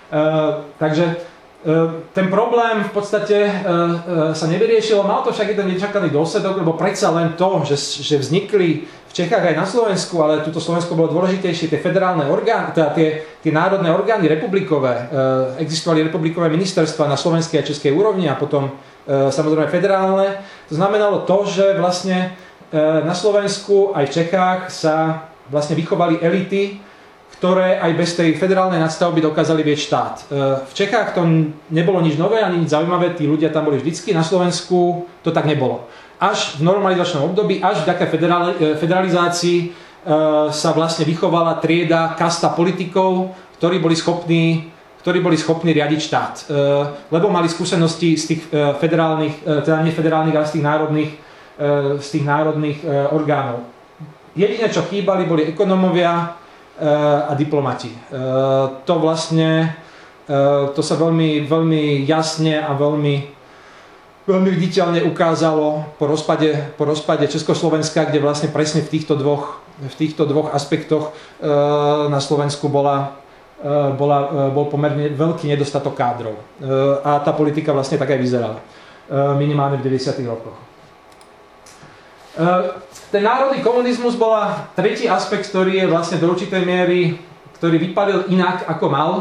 Takže ten problém v podstate sa nevyriešil, mal to však jeden nečakaný dôsledok, lebo predsa len to, že, že vznikli v Čechách aj na Slovensku, ale túto Slovensko bolo dôležitejšie, tie federálne orgány, teda tie, tie národné orgány republikové, existovali republikové ministerstva na slovenskej a českej úrovni a potom samozrejme federálne. To znamenalo to, že vlastne na Slovensku aj v Čechách sa vlastne vychovali elity, ktoré aj bez tej federálnej nadstavby dokázali vieť štát. V Čechách to nebolo nič nové, ani nič zaujímavé, tí ľudia tam boli vždycky, na Slovensku to tak nebolo. Až v normalizačnom období, až vďaka federalizácii sa vlastne vychovala trieda, kasta politikov, ktorí boli schopní, ktorí boli schopní riadiť štát. Lebo mali skúsenosti z tých federálnych, teda nefederálnych, ale z tých národných, z tých národných orgánov. Jediné, čo chýbali, boli ekonómovia a diplomati. To vlastne, to sa veľmi, veľmi jasne a veľmi, veľmi viditeľne ukázalo po rozpade, po rozpade Československa, kde vlastne presne v týchto dvoch, v týchto dvoch aspektoch na Slovensku bola, bola, bol pomerne veľký nedostatok kádrov. A tá politika vlastne tak aj vyzerala. Minimálne v deväťdesiatych rokoch. Ten národný komunizmus bola tretí aspekt, ktorý je vlastne do určitej miery, ktorý vypadil inak ako mal.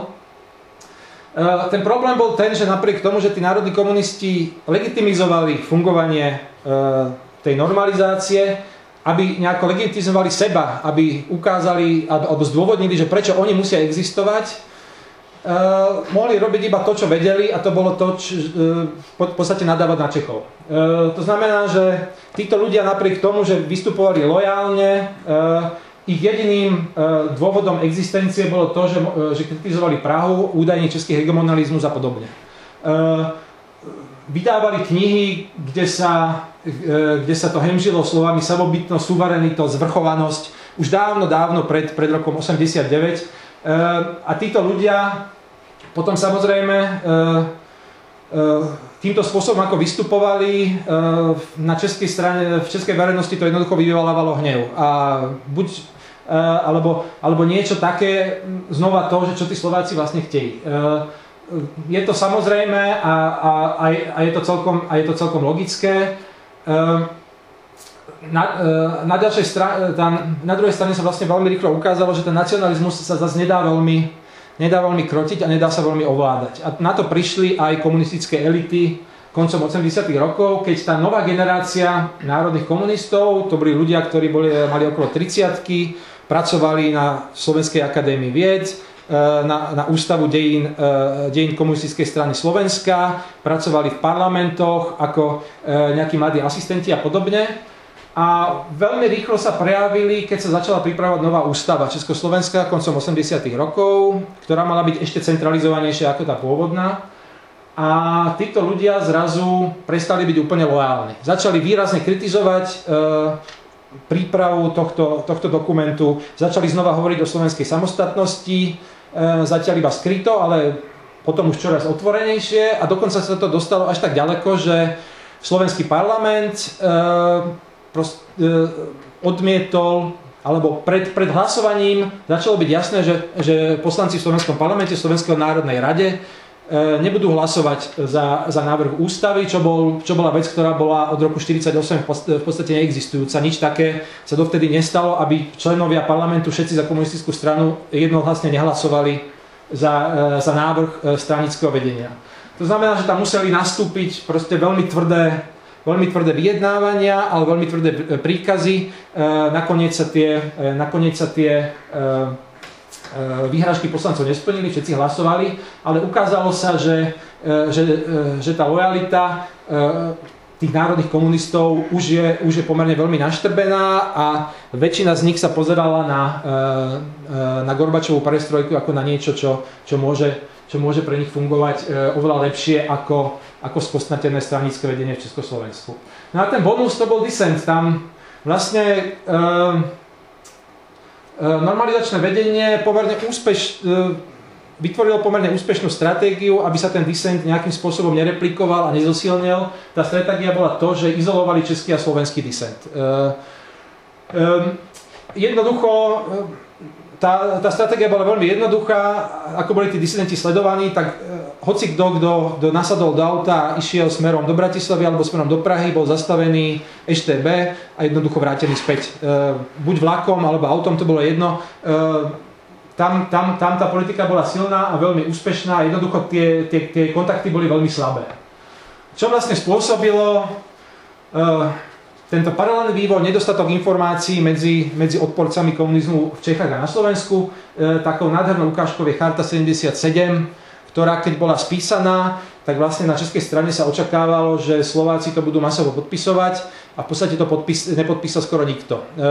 Ten problém bol ten, že napriek tomu, že tí národní komunisti legitimizovali fungovanie tej normalizácie, aby nejako legitimizovali seba, aby ukázali alebo zdôvodnili, že prečo oni musia existovať, Uh, mohli robiť iba to, čo vedeli, a to bolo to, čo, uh, po, v podstate nadávať na Čechov. Uh, to znamená, že títo ľudia napriek tomu, že vystupovali lojálne, uh, ich jediným uh, dôvodom existencie bolo to, že, uh, že kritizovali Prahu, údajne český hegemonalizmus a podobne. Uh, vydávali knihy, kde sa, uh, kde sa to hemžilo slovami samobytnosť, suverenitosť, zvrchovanosť, už dávno, dávno pred, pred rokom osemdesiatdeväť. Uh, a títo ľudia potom samozrejme uh, uh, týmto spôsobom, ako vystupovali uh, na českej strane, v českej verejnosti to jednoducho vyvolávalo hnev. A buď, uh, alebo, alebo niečo také, znova to, že čo tí Slováci vlastne chtějí. Uh, je to samozrejme a, a, a, a, je, to celkom, a je to celkom logické. Uh, Na, na, ďalšej strane, tam, na druhej strane sa vlastne veľmi rýchlo ukázalo, že ten nacionalizmus sa zase nedá veľmi, nedá veľmi krotiť a nedá sa veľmi ovládať. A na to prišli aj komunistické elity koncom osemdesiatych rokov, keď tá nová generácia národných komunistov, to boli ľudia, ktorí boli, mali okolo tridsiatky, pracovali na Slovenskej akadémii vied, na, na ústavu dejín, dejín komunistickej strany Slovenska, pracovali v parlamentoch ako nejakí mladí asistenti a podobne. A veľmi rýchlo sa prejavili, keď sa začala pripravovať nová ústava Československa koncom osemdesiatych rokov, ktorá mala byť ešte centralizovanejšia ako tá pôvodná. A títo ľudia zrazu prestali byť úplne lojálni. Začali výrazne kritizovať e, prípravu tohto, tohto dokumentu, začali znova hovoriť o slovenskej samostatnosti, e, zatiaľ iba skryto, ale potom už čoraz otvorenejšie, a dokonca sa to dostalo až tak ďaleko, že slovenský parlament e, Prost, e, odmietol, alebo pred, pred hlasovaním začalo byť jasné, že, že poslanci v slovenskom parlamente, v Slovenskej národnej rade e, nebudú hlasovať za, za návrh ústavy, čo, bol, čo bola vec, ktorá bola od roku štyridsaťosem v podstate neexistujúca. Nič také sa dovtedy nestalo, aby členovia parlamentu, všetci za komunistickú stranu, jednohlasne nehlasovali za, e, za návrh stranického vedenia. To znamená, že tam museli nastúpiť proste veľmi tvrdé veľmi tvrdé vyjednávania, ale veľmi tvrdé príkazy. Nakoniec sa tie, nakoniec sa tie výhražky poslancov nesplnili, všetci hlasovali, ale ukázalo sa, že, že, že tá lojalita tých národných komunistov už je, už je pomerne veľmi naštrbená a väčšina z nich sa pozerala na, na Gorbačovú perestrojku ako na niečo, čo, čo, môže, čo môže pre nich fungovať oveľa lepšie ako ako skostnatené stranické vedenie v Československu. No a ten bonus to bol disent. Tam vlastne e, e, normalizačné vedenie pomerne úspeš, e, vytvorilo pomerne úspešnú stratégiu, aby sa ten disent nejakým spôsobom nereplikoval a nezosilnil. Tá stratégia bola to, že izolovali český a slovenský disent. E, e, jednoducho Tá, tá stratégia bola veľmi jednoduchá, ako boli tí disidenti sledovaní, tak e, hoci kto, kto, kto nasadol do auta a išiel smerom do Bratislavy alebo smerom do Prahy, bol zastavený es té bé a jednoducho vrátený späť. E, buď vlakom alebo autom, to bolo jedno. E, tam, tam, tam tá politika bola silná a veľmi úspešná a jednoducho tie, tie, tie kontakty boli veľmi slabé. Čo vlastne spôsobilo e, tento paralelný vývoj, nedostatok informácií medzi, medzi odporcami komunizmu v Čechách a na Slovensku. E, takou nádhernou ukážkou je Charta sedemdesiatsedem, ktorá keď bola spísaná, tak vlastne na českej strane sa očakávalo, že Slováci to budú masovo podpisovať a v podstate to podpis, nepodpísal skoro nikto. E, e,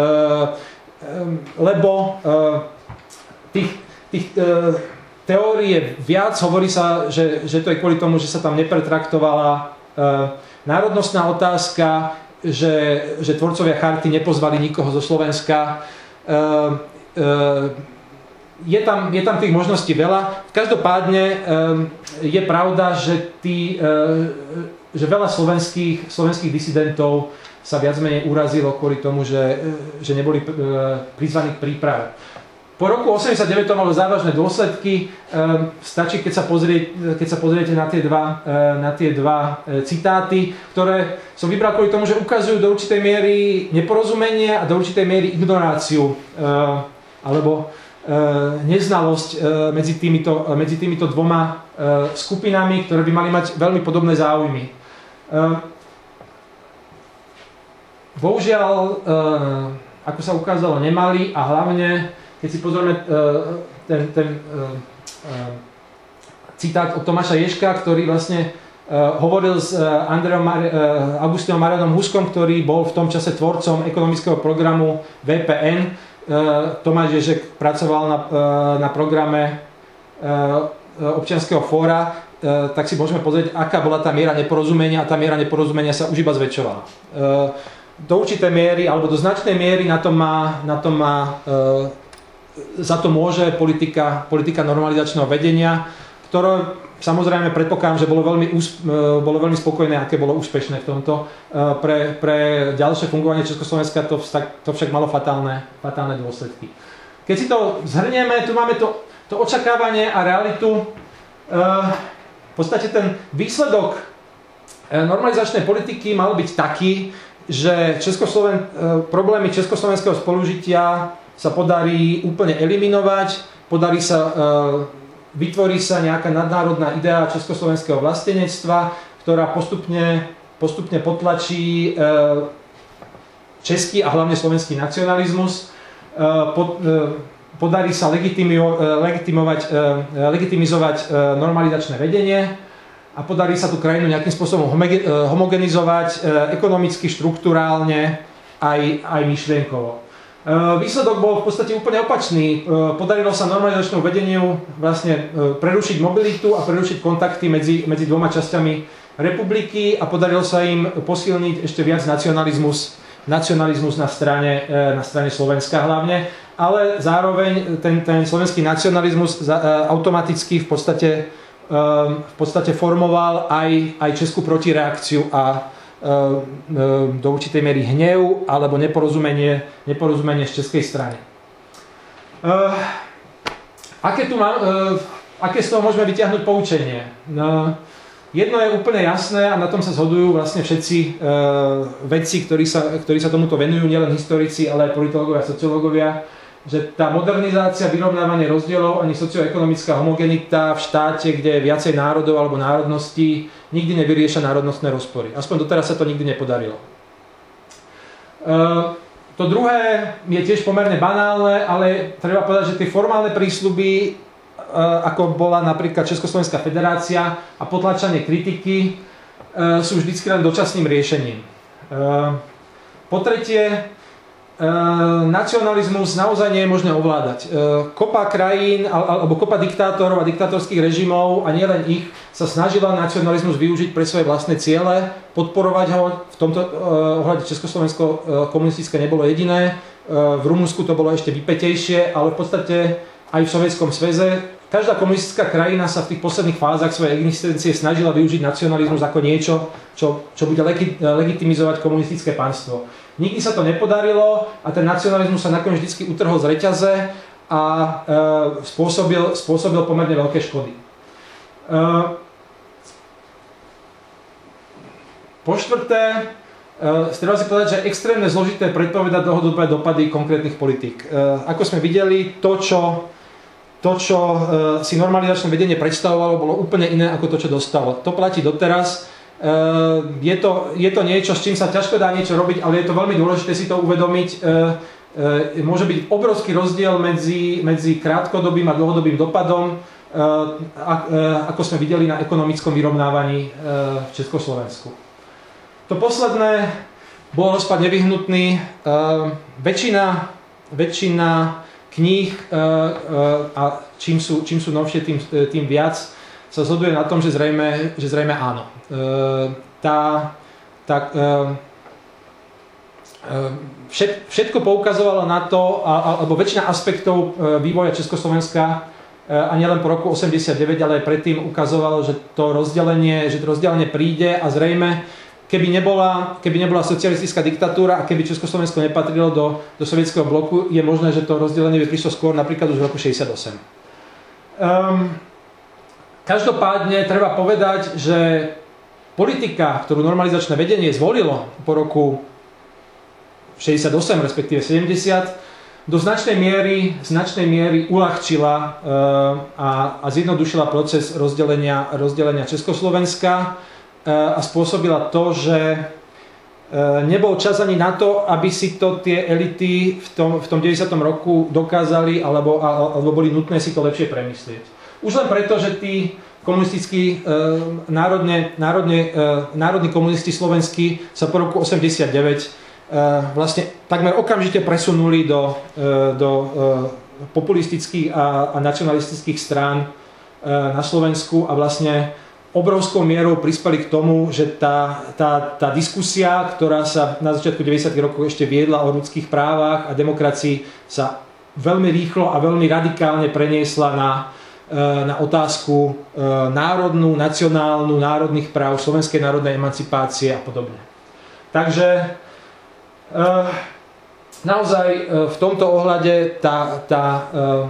lebo e, tých, tých e, teórií je viac, hovorí sa, že, že to je kvôli tomu, že sa tam nepretraktovala e, národnostná otázka, Že, že tvorcovia charty nepozvali nikoho zo Slovenska. E, e, je, tam, je tam tých možností veľa. Každopádne e, je pravda, že, tí, e, že veľa slovenských, slovenských disidentov sa viac menej urazilo kvôli tomu, že, že neboli e, prizvaní k príprave. Po roku osemdesiatdeväť to malo závažné dôsledky. Stačí, keď sa, pozrie, keď sa pozriete na tie dva, na tie dva citáty, ktoré som vybral kvôli tomu, že ukazujú do určitej miery neporozumenie a do určitej miery ignoráciu alebo neznalosť medzi týmito, medzi týmito dvoma skupinami, ktoré by mali mať veľmi podobné záujmy. Bohužiaľ, ako sa ukázalo, nemali a hlavne keď si pozrieme uh, ten, ten uh, uh, citát od Tomáša Ježka, ktorý vlastne uh, hovoril s uh, Andreom Mar- uh, Augustínom Marianom Huskom, ktorý bol v tom čase tvorcom ekonomického programu vé pé en. Uh, Tomáš Ježek pracoval na, uh, na programe uh, občianskeho fóra, uh, tak si môžeme pozrieť, aká bola tá miera neporozumenia a tá miera neporozumenia sa už iba zväčšovala. Uh, do určitej miery, alebo do značnej miery na to má, na to má uh, za to môže politika, politika normalizačného vedenia, ktoré samozrejme predpokladám, že bolo veľmi, úsp- bolo veľmi spokojné, aké bolo úspešné v tomto. Pre, pre ďalšie fungovanie Československa to, to však malo fatálne, fatálne dôsledky. Keď si to zhrnieme, tu máme to, to očakávanie a realitu. V podstate ten výsledok normalizačnej politiky mal byť taký, že Českosloven- problémy československého spolužitia sa podarí úplne eliminovať, podarí sa, e, vytvorí sa nejaká nadnárodná idea československého vlastenectva, ktorá postupne, postupne potlačí e, český a hlavne slovenský nacionalizmus. E, pod, e, podarí sa legitimio, e, legitimovať, e, legitimizovať e, normalizačné vedenie a podarí sa tú krajinu nejakým spôsobom homoge, e, homogenizovať e, ekonomicky, štruktúrálne aj, aj myšlienkovo. Výsledok bol v podstate úplne opačný. Podarilo sa normalizačnému vedeniu vlastne prerušiť mobilitu a prerušiť kontakty medzi, medzi dvoma časťami republiky a podarilo sa im posilniť ešte viac nacionalizmus, nacionalizmus na strane, na strane Slovenska hlavne, ale zároveň ten, ten slovenský nacionalizmus automaticky v podstate, v podstate formoval aj, aj českú protireakciu a do určitej miery hnev alebo neporozumenie, neporozumenie z českej strany. Uh, aké, tu má, uh, aké z toho môžeme vyťahnuť poučenie? Uh, jedno je úplne jasné a na tom sa zhodujú vlastne všetci uh, vedci, ktorí sa, ktorí sa tomuto venujú, nielen historici, ale aj politológovia a sociológovia, že tá modernizácia, vyrovnávanie rozdielov ani socioekonomická homogenita v štáte, kde je viacej národov alebo národností, nikdy nevyrieša národnostné rozpory. Aspoň doteraz sa to nikdy nepodarilo. Uh, to druhé je tiež pomerne banálne, ale treba povedať, že tie formálne prísľuby, uh, ako bola napríklad Československá federácia a potlačanie kritiky, uh, sú vždycky len dočasným riešením. Uh, po tretie, Uh, nacionalizmus naozaj nie je možné ovládať. Uh, kopa krajín alebo kopa diktátorov a diktátorských režimov a nielen ich sa snažila nacionalizmus využiť pre svoje vlastné ciele, podporovať ho. V tomto uh, ohľade Československo uh, komunistické nebolo jediné. Uh, v Rumunsku to bolo ešte vypätejšie, ale v podstate aj v Sovietskom zväze každá komunistická krajina sa v tých posledných fázach svojej existencie snažila využiť nacionalizmus ako niečo, čo, čo bude legi- legitimizovať komunistické panstvo. Nikdy sa to nepodarilo a ten nacionalizmus sa nakoniec vždy utrhol z reťaze a e, spôsobil, spôsobil pomerne veľké škody. E, po štvrté, e, treba si povedať, že je extrémne zložité predpovedať dlhodobé dopady konkrétnych politík. E, ako sme videli, to, čo, to, čo e, si normalizačné vedenie predstavovalo, bolo úplne iné ako to, čo dostalo. To platí doteraz. Uh, je, to, je to niečo, s čím sa ťažko dá niečo robiť, ale je to veľmi dôležité si to uvedomiť. Uh, uh, môže byť obrovský rozdiel medzi, medzi krátkodobým a dlhodobým dopadom, uh, a, uh, ako sme videli na ekonomickom vyrovnávaní uh, v Československu. To posledné, bol rozpad nevyhnutný. Uh, väčšina, väčšina kníh uh, uh, a čím sú, čím sú novšie, tým, tým viac sa zhoduje na tom, že zrejme, že zrejme áno. E, tá, tá, e, všet, všetko poukazovalo na to, alebo väčšina aspektov vývoja Československa a nielen po roku osemdesiatdeväť, ale aj predtým ukazovalo, že to rozdelenie, že to rozdelenie príde a zrejme keby nebola, keby nebola socialistická diktatúra a keby Československo nepatrilo do, do sovietskeho bloku, je možné, že to rozdelenie by prišlo skôr napríklad už v roku šesťdesiatosem. Um, každopádne treba povedať, že politika, ktorú normalizačné vedenie zvolilo po roku šesťdesiatosem, respektíve sedemdesiat, do značnej miery, značnej miery uľahčila uh, a, a zjednodušila proces rozdelenia, rozdelenia Československa uh, a spôsobila to, že uh, nebol čas ani na to, aby si to tie elity v tom, v tom deväťdesiatom roku dokázali alebo, alebo boli nutné si to lepšie premyslieť. Už len preto, že tí komunistickí, uh, národne, národne, uh, národní komunisti slovenskí sa po roku osemdesiatdeväť vlastne takmer okamžite presunuli do, do populistických a, a nacionalistických strán na Slovensku a vlastne obrovskou mierou prispeli k tomu, že tá, tá, tá diskusia, ktorá sa na začiatku deväťdesiatych rokov ešte viedla o ľudských právach a demokracii, sa veľmi rýchlo a veľmi radikálne preniesla na, na otázku národnú, nacionálnu, národných práv, slovenskej národnej emancipácie a podobne. Takže Uh, naozaj uh, v tomto ohľade tá, tá uh,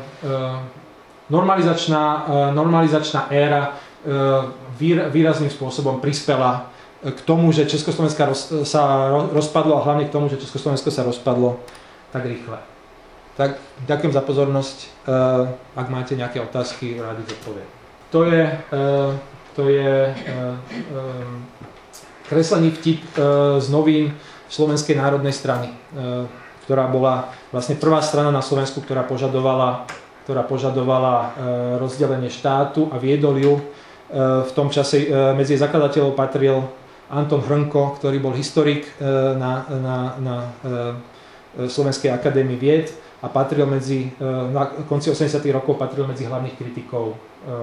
uh, normalizačná, uh, normalizačná éra uh, výr, výrazným spôsobom prispela k tomu, že Československo roz, sa rozpadlo a hlavne k tomu, že Československo sa rozpadlo tak rýchle. Tak ďakujem za pozornosť. Uh, ak máte nejaké otázky, rádi zodpoviem. To je, uh, to je uh, um, kreslený vtip uh, z novín Slovenskej národnej strany, ktorá bola vlastne prvá strana na Slovensku, ktorá požadovala, ktorá požadovala rozdelenie štátu a viedol ju. V tom čase medzi zakladateľov patril Anton Hrnko, ktorý bol historik na, na, na Slovenskej akadémii vied a patril medzi, na konci osemdesiatych rokov patril medzi hlavných kritikov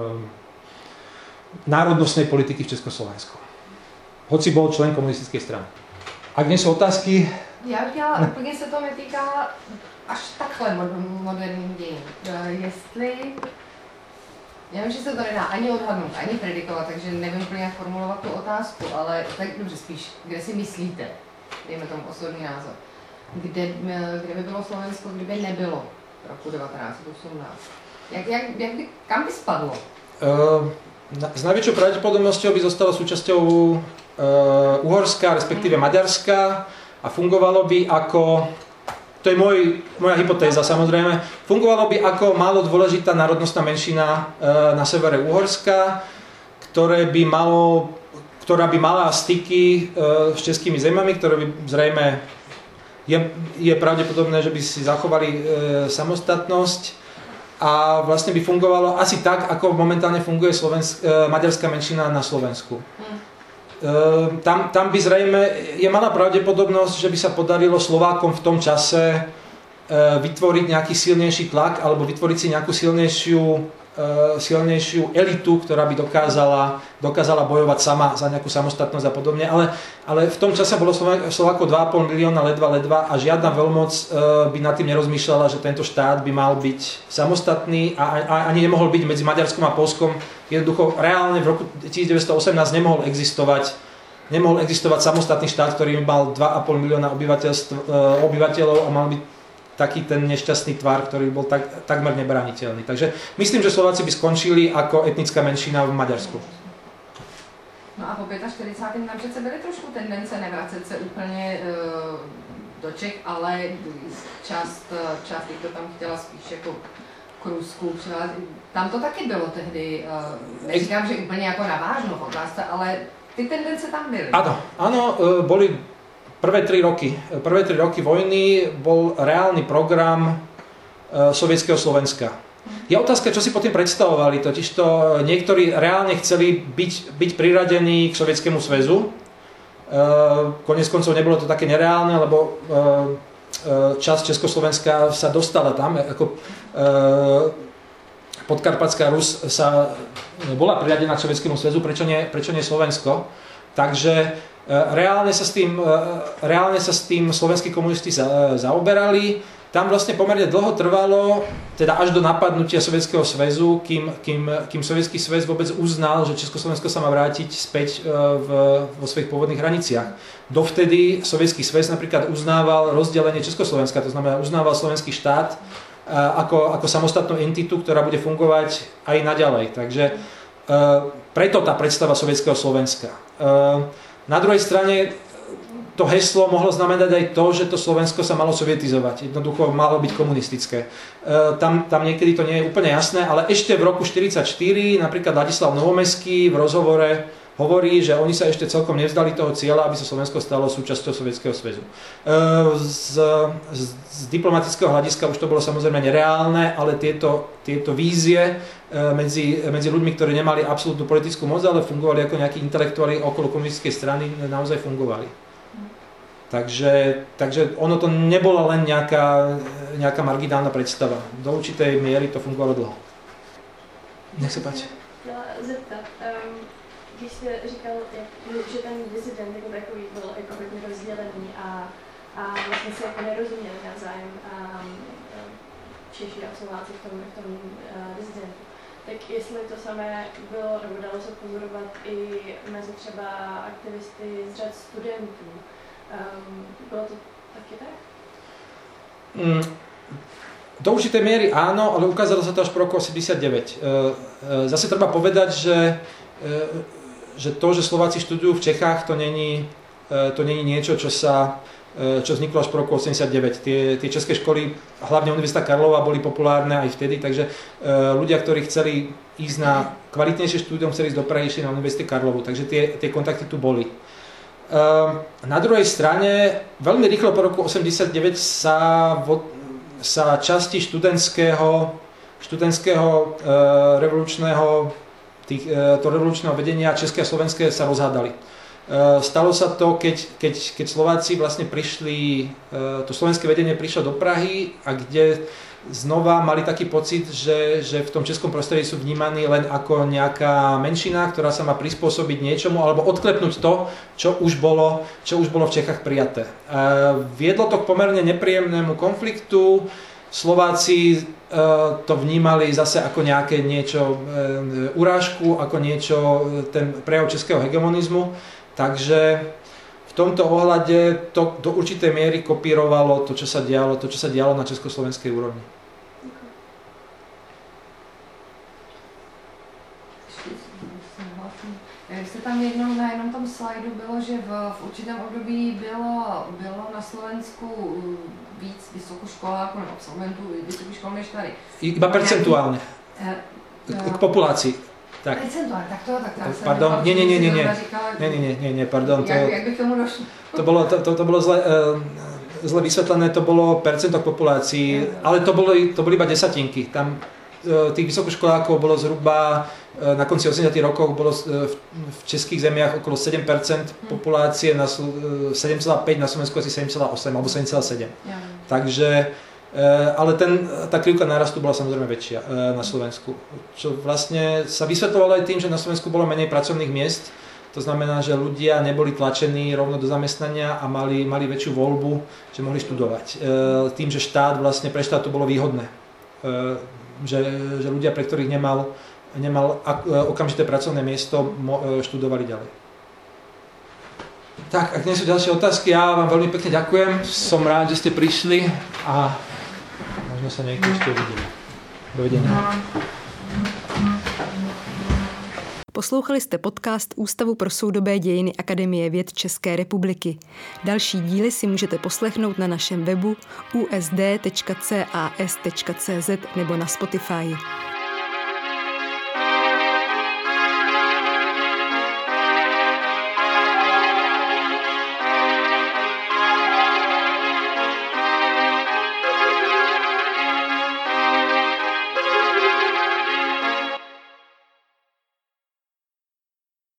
národnostnej politiky v Československu. Hoci bol člen komunistickej strany. Ak nie sú otázky? Já bych chtěla, úplně se to netýká až takhle moderním dějin. Jestli, já vím, že se to nedá ani odhadnout, ani predikovat, takže nevím úplně jak formulovat tu otázku, ale tak dobře spíš, kde si myslíte, dejme tomu osobní názor, kde, kde by bylo Slovensko, kdyby nebylo roku devätnásť osemnásť? Jak, jak, jak by, kam by spadlo? Uh, s najväčšou pravdepodobnosťou by zostalo súčasťou Uh, Uhorska, respektíve Maďarska a fungovalo by ako, to je môj, moja hypotéza samozrejme, fungovalo by ako málo dôležitá národnostná menšina uh, na severe Uhorska, ktoré by malo, ktorá by mala styky uh, s českými zemami, ktoré by zrejme je, je pravdepodobné, že by si zachovali uh, samostatnosť a vlastne by fungovalo asi tak, ako momentálne funguje Slovensk, uh, maďarská menšina na Slovensku. Uh, tam, tam by zrejme, je malá pravdepodobnosť, že by sa podarilo Slovákom v tom čase uh, vytvoriť nejaký silnejší tlak alebo vytvoriť si nejakú silnejšiu, uh, silnejšiu elitu, ktorá by dokázala, dokázala bojovať sama za nejakú samostatnosť a podobne. Ale, ale v tom čase bolo Slovákov dva a pol milióna ledva, ledva a žiadna veľmoc uh, by nad tým nerozmýšľala, že tento štát by mal byť samostatný a, a ani nemohol byť medzi Maďarskom a Poľskom. Jednoducho, reálne v roku devätnásťstoosemnásť nemohol existovať, nemohol existovať samostatný štát, ktorý mal dva a pol milióna obyvateľov a mal byť taký ten nešťastný tvar, ktorý bol tak, takmer nebraniteľný. Takže myslím, že Slováci by skončili ako etnická menšina v Maďarsku. No a po štyridsiatom piatom tam přece byly trošku tendence nevracet se úplně uh, do Čech, ale část, část to tam chtěla spíš jako k Rusku, tam to taky bylo tehdy, neříkám, že úplně jako navážno v otázce, ale ty tendence tam byly. Áno, áno, boli prvé tri roky. Prvé tri roky vojny bol reálny program sovietskeho Slovenska. Je otázka, čo si pod tým predstavovali, totižto niektorí reálne chceli byť, byť priradení k Sovietskému zväzu. Koniec koncov nebolo to také nereálne, lebo časť Československa sa dostala tam, ako Podkarpatská Rus sa bola priradená k Sovietskému zväzu, prečo nie, prečo nie Slovensko? Takže reálne sa s tým, reálne sa s tým slovenskí komunisti za, zaoberali, tam vlastne pomerne dlho trvalo, teda až do napadnutia Sovietskeho zväzu, kým, kým, kým Sovietsky zväz vôbec uznal, že Československo sa má vrátiť späť v, vo svojich pôvodných hraniciach. Dovtedy Sovietsky zväz napríklad uznával rozdelenie Československa, to znamená uznával slovenský štát ako, ako samostatnú entitu, ktorá bude fungovať aj naďalej. Takže preto tá predstava sovietskeho Slovenska. Na druhej strane to heslo mohlo znamenať aj to, že to Slovensko sa malo sovietizovať. Jednoducho malo byť komunistické. E, tam, tam niekedy to nie je úplne jasné, ale ešte v roku štyridsaťštyri napríklad Ladislav Novomeský v rozhovore hovorí, že oni sa ešte celkom nevzdali toho cieľa, aby sa Slovensko stalo súčasťou Sovietskeho zväzu. E, z, z, z diplomatického hľadiska už to bolo samozrejme nereálne, ale tieto, tieto vízie e, medzi, medzi ľuďmi, ktorí nemali absolútnu politickú moc, ale fungovali ako nejakí intelektuáli okolo komunistickej strany, naozaj fungovali. Takže, takže ono to nebola len nejaká, nejaká marginálna predstava. Do určitej miery to fungovalo dlho. Nech se páči. Chtěla zeptat, um, když jste říkal, jak, že ten disident jako takový byl jako hodně rozdělený a, a vlastně se jako nerozuměli navzájem um, Češi a Slováci v tom, v tom uh, disidentu, tak jestli to samé bylo, nebo dalo se pozorovat i mezi třeba aktivisty z řad studentů. Um, bylo to taky tak? Mm, do určitej miery áno, ale ukázalo sa to až po roku osemdesiatdeväť. Zase treba povedať, že, že to, že Slováci študujú v Čechách, to není, to není niečo, čo sa čo vzniklo až po roku osemdesiatdeväť. Tie, tie české školy, hlavne Univerzita Karlova, boli populárne aj vtedy, takže ľudia, ktorí chceli ísť na kvalitnejšie štúdium, chceli ísť do Prahy, išli na Univerzite Karlovu, takže tie, tie kontakty tu boli. Na druhej strane, veľmi rýchlo po roku osemdesiatdeväť sa, vo, sa časti študentského, študentského revolučného, tých, to revolučného vedenia české a slovenské sa rozhádali. Stalo sa to, keď, keď, keď Slováci vlastne prišli, to slovenské vedenie prišlo do Prahy a kde znova mali taký pocit, že, že v tom českom prostredí sú vnímaní len ako nejaká menšina, ktorá sa má prispôsobiť niečomu alebo odklepnúť to, čo už bolo, čo už bolo v Čechách prijaté. E, viedlo to k pomerne nepríjemnému konfliktu. Slováci e, to vnímali zase ako nejaké niečo e, urážku, ako niečo, ten prejav českého hegemonizmu. Takže v tomto ohľade to do určitej miery kopírovalo to, čo sa dialo, to, čo sa dialo na československej úrovni. Jestli tam jednou na jednom tom slajdu bylo, že v, v určitém období bylo, bylo na Slovensku víc vysokoškoláků nebo absolventů vysokých škol než tady. Iba percentuálne. K, k populácii. Tak. Percentuálne, tak to, tak to. Pardon, nie, nie, nie, nie, nie, nie, nie, nie, nie, pardon. To, jak, jak by k tomu došlo? To bolo, to, to, to bolo zle, uh, zle vysvetlené, to bolo percento k populácii, ale to boli, to boli iba desatinky. Tam uh, tých vysokoškolákov bolo zhruba uh, na konci osemdesiatych rokov bolo uh, v, v českých zemiach okolo sedem percent populácie, na uh, sedem celá päť, na Slovensku asi sedem celá osem alebo sedem celá sedem. Ja. Takže ale ten, tá krivka nárastu bola samozrejme väčšia na Slovensku, čo vlastne sa vysvetľovalo aj tým, že na Slovensku bolo menej pracovných miest, to znamená, že ľudia neboli tlačení rovno do zamestnania a mali, mali väčšiu voľbu, že mohli študovať. Tým, že štát vlastne pre štát to bolo výhodné, že, že ľudia, pre ktorých nemal, nemal okamžité pracovné miesto, študovali ďalej. Tak, ak nie sú ďalšie otázky, ja vám veľmi pekne ďakujem, som rád, že ste prišli a možno sa niekto ešte uvidíme. Dovidenia. Poslouchali jste podcast Ústavu pro soudobé dějiny Akademie věd České republiky. Další díly si můžete poslechnout na našem webu u s d tečka c a s tečka c z nebo na Spotify.